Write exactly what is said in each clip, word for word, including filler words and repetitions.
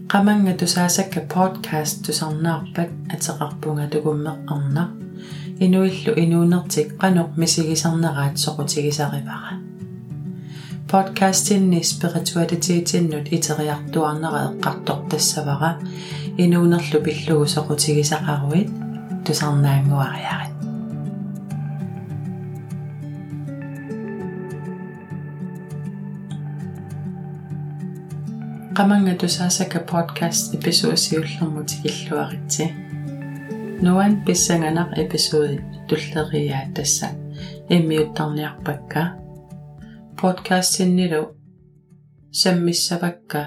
Qamanga tusaasakka podcast tusarnaarpat ateqarpunga tukummeqqarna inuillu inuunertik qanuq misigisarneraat soqutigisarivara podcastinni spiritualitiitinnut iteriartuarnera eqqartortassavara inuunerlu pillugu soqutigisaqaruit tusarnaanguariarit Qamanga tusaasakka podcast episodesiullermutikilluaritsi nuan pissanganaq episodi tulleriaa tassa immiuttarniarpakka podcastinnilu sammissavakka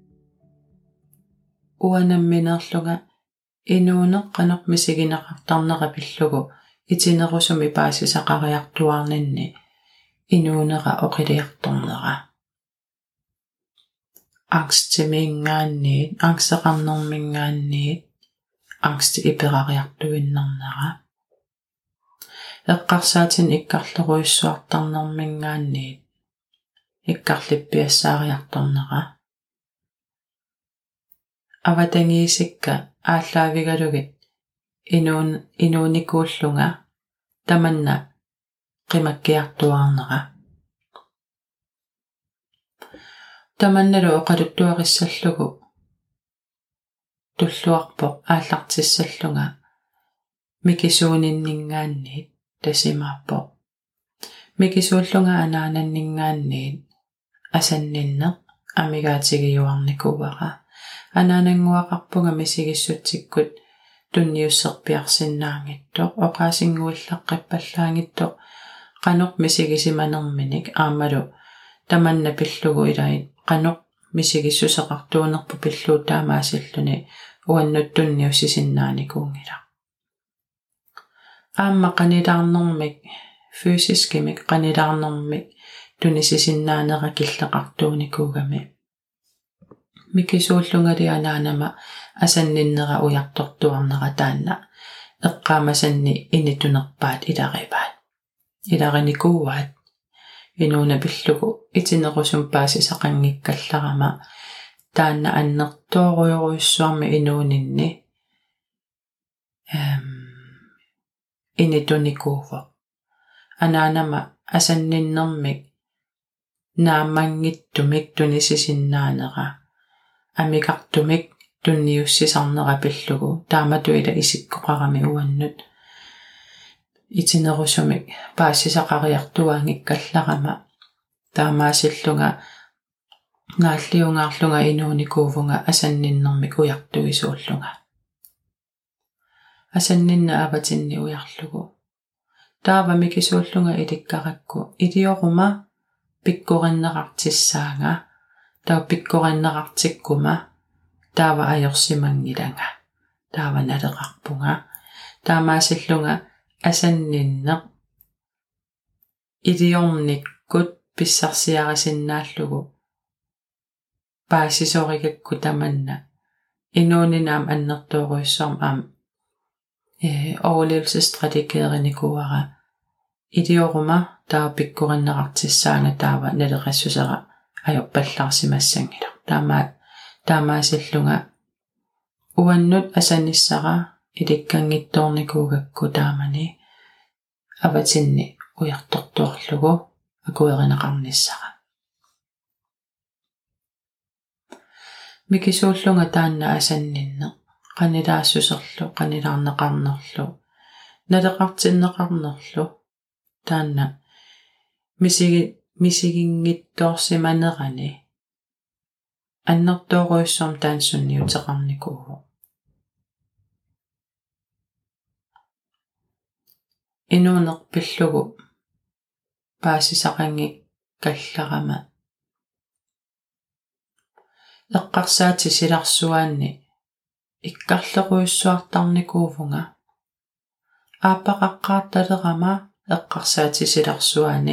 uanamminerluga inuuneqqanoq misigineqartarnera pillugu itinerusumi paasisaqariartuarninni inuunera oqiliartornera angstimiingaanniit angseqarnermingaanniit angsti iperariartuinnernera eqqarsaatin ikkarleruissuartarnermingaanniit ikkarlippiassaariartornera avatangiisikka ааllааvigalugit inuun inuunikuullunga tamanna qimakkiartuarnera tamannalu oqaluttuaqissallugu tulluarpoq aallartissallunga mikisuuninningaanniit tasimaarpoq mikisuullunga anaananningaanniit asanninneq amigaatigiuarnikuuara anaananguaqarpunga misigissuttikkut tunniusserpiarsinnaangittoq oqaasinguillaqqippallaangittoq qanuq misigisimanerminik aamalu tamanna pillugu ilait qanuq misigissuseqartuunerpu pilluutaamaasilluni uannuttunniussisinnaanikuungila aamma qanilaarnermik fysiskimik qanilaarnermik tunisisinnaaneqa killeqartuunikuugami mikisuullungali anaanama asanninnera ujartortuarnera taanna eqqaamasanni initunerpaat ilaripaat ilarinikuuaat inuuna pillugu itinerusum paasisaqanngikkallarama taanna annertooruyoruissuarmi inuuninni ähm initunikuuvo anaanama asanninnermik naamangittumik tunisisinnaaneqa amikartumik tunniussisarnera pillugu taamatu ila isikkoqarami uannut itinerusumik paassisaqariartuaangikkallarama taamaasillunga naalliungaarlunga inuunikuuvunga asanninnermik ujartuisuullunga asanninna avatinni ujarlugu taava mikisuullunga ilikkaqakku ilioruma pikkurinneqartissaanga taa pikkurinneqartikkuma taava ajorsimangilanga taava naleqarpunga taamaasillunga asanninneq iliornikkut pissarsiarisinnaallugu paassisorigakku tamanna inuuninaam annertooruissuarm aam eh overlevelsesstrategeerinikuara ilioruma taa pikkurinneqartissaanga taava naleqassusera ajorpallarsimassangila taama taamaasillunga uannut asannissara ilikkangittoornikuugakku taamani avatinni ujartortuarlugu akuerineqarnissara mikisuullunga taanna asanninne qanilaassuserlu qanilaarneqarnerlu naleqartinneqarnerlu taanna misigi misiginngittoorsimanerani annertooruissuarm taansunniuteqarnikuuvu inuuneq pillugu paassisaqangi kallarama eqqarsaati silarsuaanni ikkarleruissuartarnikuuvunga aappaqaqqaartalerama eqqarsaati silarsuaani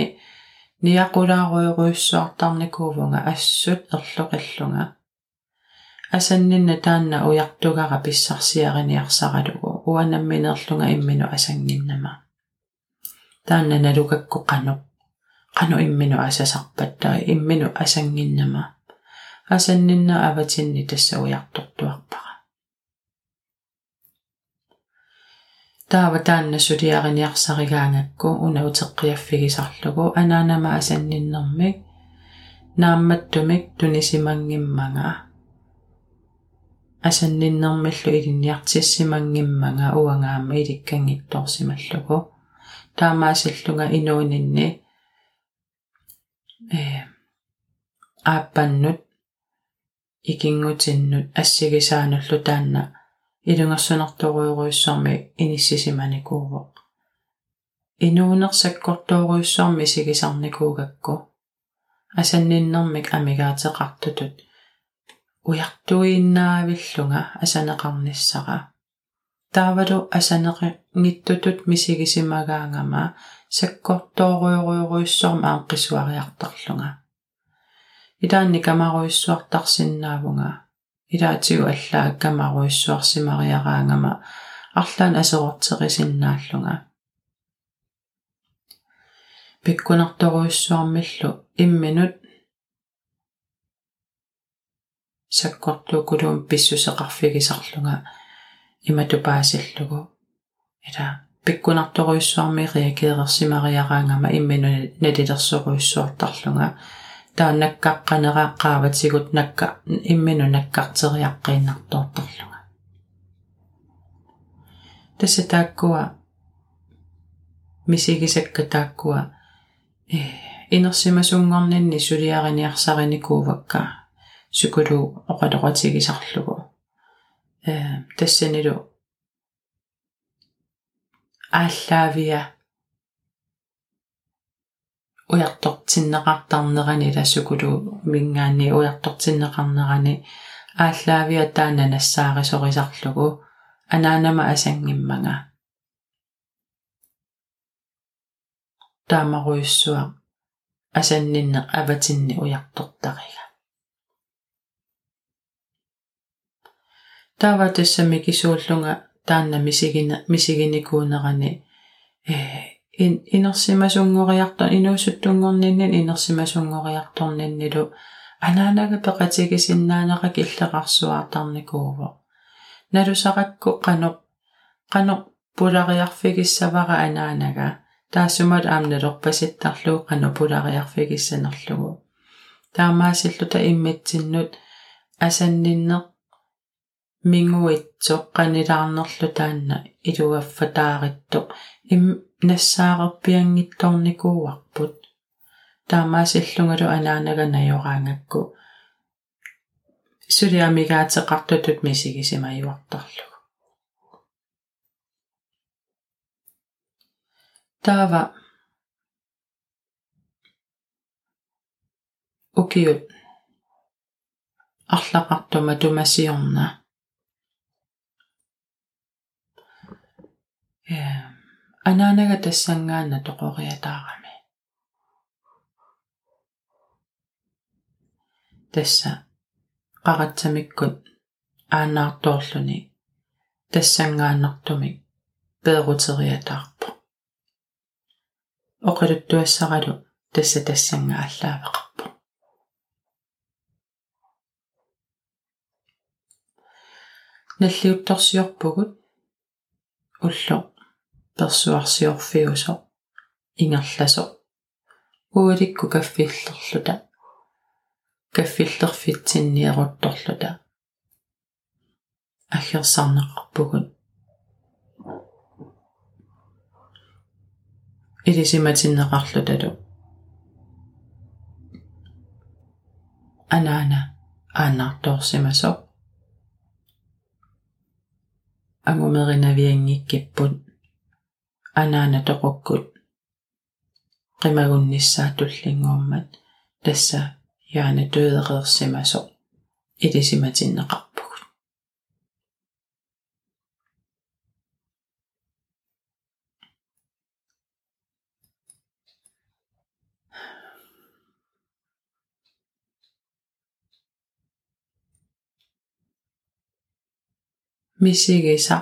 niaqulaaruyoruissuartarnikuuvunga assut erloqillunga asanninna taanna ujartugara pissarsiariniarsaralugu uanamminerlunga imminu asanginnama taanna nalugakku qanuq qanu imminu asasarpattai imminu asanginnama асаннинна аватинни тассауярторtuarpara таава таанна сулиариниарсаригаангакку уна утеққиаффигисарлугу анаанама асанниннэрмик наамматтумик тунисимангиммага асанниннэрмиллу илинниартиссимангиммага уангаама иликкангитторсималлугу таамаасиллунга инуунинни э ааппаннут икингутиннут ассигисаануллу таанна илунгерсунэрторуйоруйуссарми иниссисиманикууво инуунерсаккорторуйуссарми сигисарникуугакку асанниннэрмик амигаатеқартутут уяртуиннаавиллунга асанеқарниссара таавалу асанеқи ниттутут мисигисимагаангама саккорторуйоруйоруйуссарма ааққисуариартарлунга идаанни камаруйуссуартарсиннаавунга илаатигу аллаа камаруйуссуарсимариараангама арлаан асеқортеқисиннааллунга пиккунарторуйуссуармиллу имминут саккортуукулуум писсусеқарфигисарлунга иматупаасиллугу ила пиккунарторуйуссуарми реакеерсимариараангама иммину налилерсоруйуссуартарлунга тааннаккаққанерааққааватигут накка иммину наккартериаққииннартоортарлунга тассатааккуа мисигисакка тааккуа э инерсимасунгорнинни сулиариниарсариникуувакка сукулу оқалоқатигисарлугу э тассанилу ааллаавиа уяртортиннеқартарнерани ласукулу мингаани уяртортиннеқарнерани ааллаавиа таана нассаарисорисарлугу анаанама асангиммага таамаруйуссуа асаннинне аватинни уяртортарига таава тассами кисууллунга таанна мисигина мисигиникуунерани э ин инерсимасунгориарто инуусуттунгорниннин инерсимасунгориарторниннилу анаанага пеқатигисиннаанеқа киллеқарсуаартарникууво налусақакку қано қано пулариарфигиссавара анаанага таасумат аамналерпаситтарлуу қано пулариарфигиссанерлугу таамаасиллута иммитсиннут асаннинне мингуитсо қанилаарнерлу таанна илугаффатаариттоқ им нассаарерпиангитторникууарпут таамаасиллунгалу анаанага наёраангакку сулиамигаатеқартутут мисигисимаюартарлугу таава укиут арлақартума тумасиорна э анаанага тассангаана тоқориатаарами тасса қаратсамиккут аанаарторлуни тассангааннартумик пеерутериатаарпо оқалуттуассаралу тасса тассангааллаавеқарпо наллиутторсиорпугут улло персуарсиорфиусо ингерласо ууликку каффиллерлута каффиллерфитсинниерутторлута аггерсарнеқарпугут илисиматиннеқарлуталу анаана аанаарторсимасо ангумеринавиангиккиппут анаана тоқоккут қимагунниссаатуллингууммат тасса яана төөдеқерсимасо илисиматиннеқарпугут мисигиса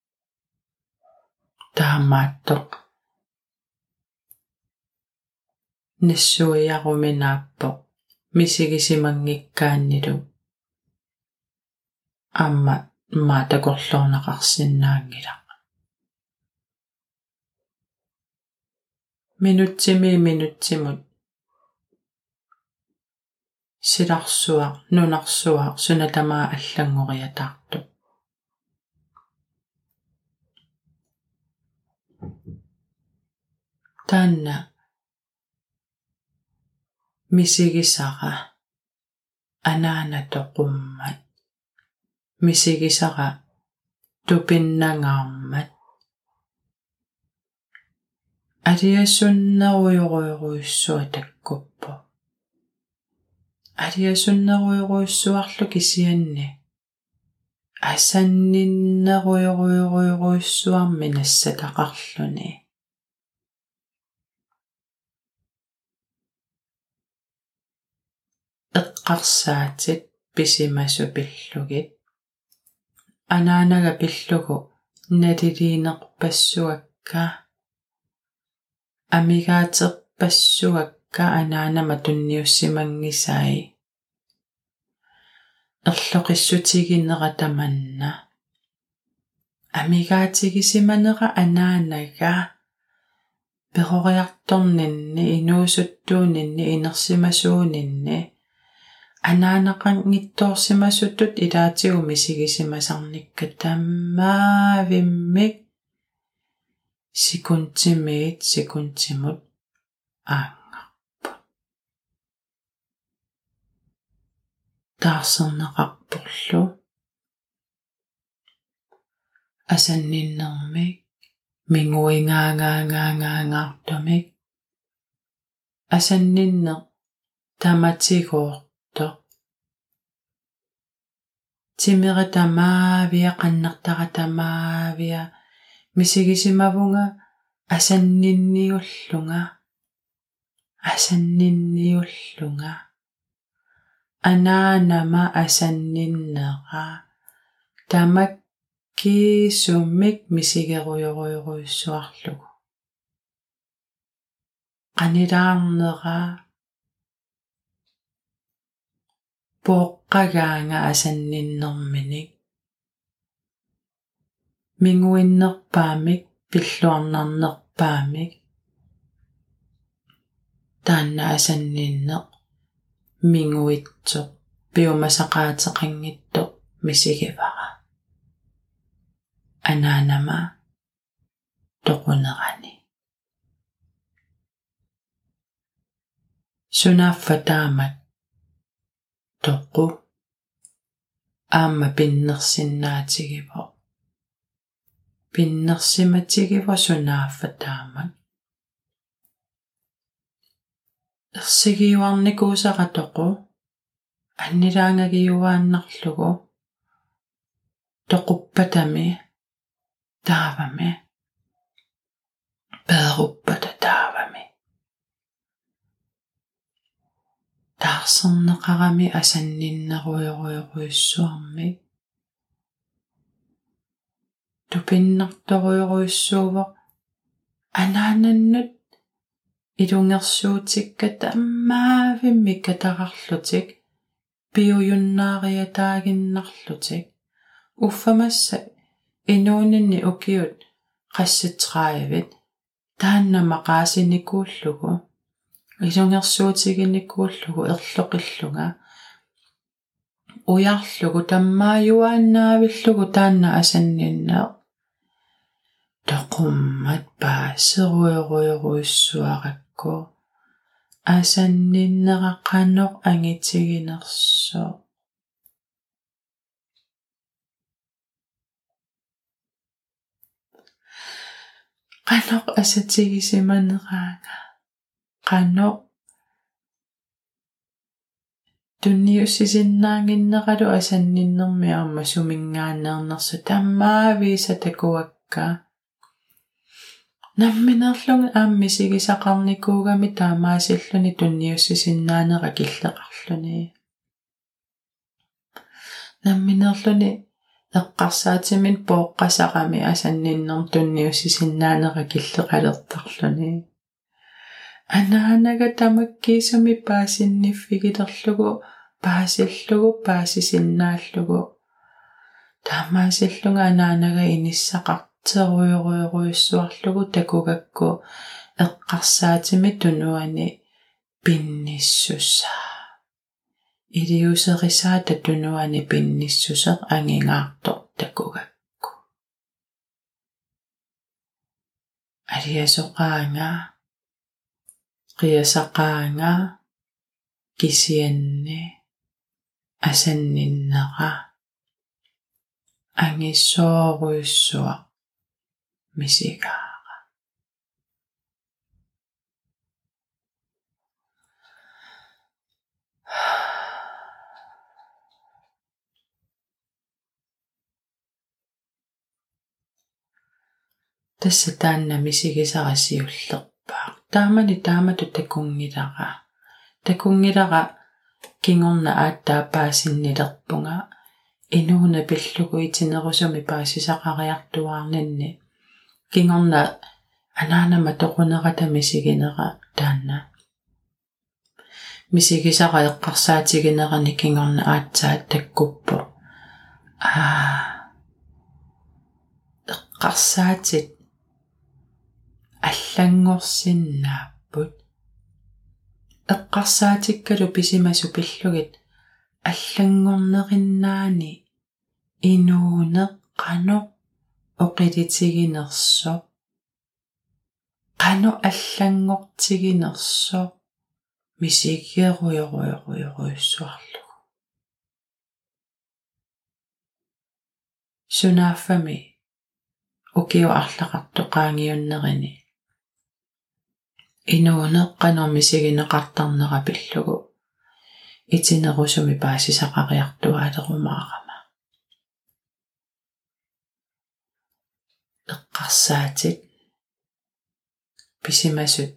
таамааттоқ нассуиаруминааппо мисигисимангиккааннилу аама маатакорлуорнақарсинаангила минутсими минутсимут силарсуақ нунарсуақ сунатамаа аллангориатаарту таанна мисигисара анаанатоқуммат мисигисара тупиннангаармат алиасуннеруйоруйоруйссуа таккуппу алиасуннеруйоруйссуарлу кисианни асанниннеруйоруйоруйоруйссуарми нассатақарлуни эққарсаатит писимасупиллугит анаанага пиллугу налилиинерпассуакка амигаатерпассуакка анаанама тунниуссимангисаи эрлоқиссутигинератаманна амигаатигисиманера анаанага перориарторнинни инуусуттуунинни инерсимасуунинни анаанақангитторсимасутут илаатигу мисигисимасарникка таммаавиммик секундтимиит секундтимут аангарпут таарсернеқарпурлу асанниннэрмик мингуингаагаангаагаангартумик асанниннер таматигоорто тимератамаавиа қаннартаратамаавиа мисигисимавунга асаннинниуллунга асаннинниуллунга анаанама асанниннера тамаккиисуммик мисигеруйоруйоруйссуарлугу qanilаарnera поққагаанга асанниннэрминик мингуиннерпаамик пиллуарнарнерпаамик таанна асанниннеқ мингуитсоқ пиумасақаатеқангиттоқ мисигивара анаанама тоқунерани сунааффатаамак тоқу аама пиннерсиннаатигиво пиннерсиматигиво сунааффатаамак ерсигиуарникуусаратоқу аннилаангагиуааннарлугу тоқуппатами таавами пееруппата таавами таарсернеқарами асанниннеруйоруйоруйссуарми тупиннарторуйоруйссуувоқ анаананнут илунгерсуутикка таммаавимми катарарлутик пиуюннаариатаагиннарлутик уффамасса инуунинни укиут qassitраавит тааннама qaasinikуулlugu илунгерсуутигинникууллугу ерлоқиллунга уярлугу таммааюааннаавиллугу таанна асанниннаа тоқуммат паасеруйоруйоруйссуаракку асанниннераққаноқ ангитсигинерсо qanoq asatsigisimaneraaga qanoq tunniussisinnaanginneqalu asanninnermi aamma sumingaanneernersu tammaaviisa takuakka намминерлунг ааммисигисақарникуугами таамаасиллуни тунниуссисиннаанера киллеқарлуни намминерлуни эққарсаатимин пооққасақами асанниннер тунниуссисиннаанера киллеқалертарлуни Anaanaga tamakkiisumi paasinniffigiterlugu paasillugu paasisinnaалlugu таамаасиллунга анаанага иниссақартеруйоруйоруйуссуарлугу такугакку эққарсаатими тунуани пинниссуссаа илиусерисаа татунуани пинниссусеқ ангингаартор такугакку алиасоқаанга қиасақаанга кисианни асанниннера ангиссооруйуссуа мисигаара тасса таанна мисигисарасиуллерпаа таамани таамату такунгилара такунгилара кингорна ааттаапаасиннилерпунга инууна пиллугу итинерусуми паасисақариартуаарнанни кингорна анаанама тоқунерата мисигинера таанна мисигисара эққарсаатигинерани кингорна аатсаат таккуппо аа эққарсаатит аллангорсиннааппут эққарсаатиккалу писимасу пиллугит аллангорнериннаани инууне қано оқилитигинерсо қано аллангортигинерсо мисиггеруйоруйоруйоруйуссуарлугу сунааффами укиу арлақартоқаангиуннерини инууне қано мисигинеқартарнера пиллугу итинерусуми паасисақариартуаалерумаарама эққарсаатит писимасут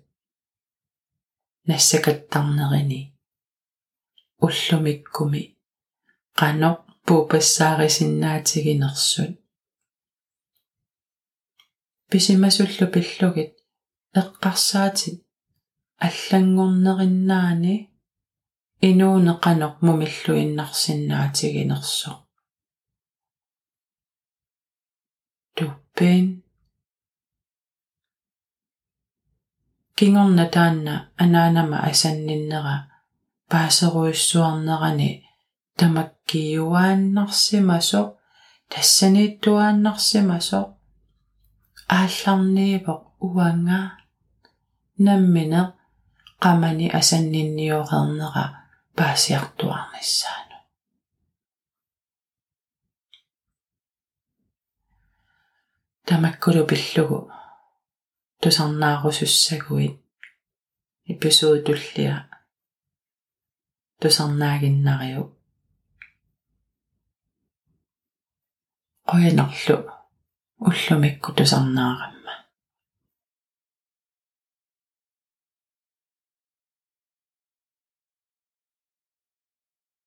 нассакаттарнерини уллумиккуми қано пуупассаарисиннаатигинерсут писимасуллу пиллугит эққарсаатит аллангорнериннаани инууне қано мумиллуиннарсиннаатигинерсо туппин кингорна таанна анаанама асанниннера паасеруйуссуарнерани тамаккиюааннарсимасо тассанииттуааннарсимасо аалларниивоқ уанга наммина qamani асаннинниорернера паасиартуарниссаану тамаккулу пиллугу тусарнаарусуссагуит эпизод туллиа тусарнаагиннариу qoyanarlu ullumikku tusarnaarami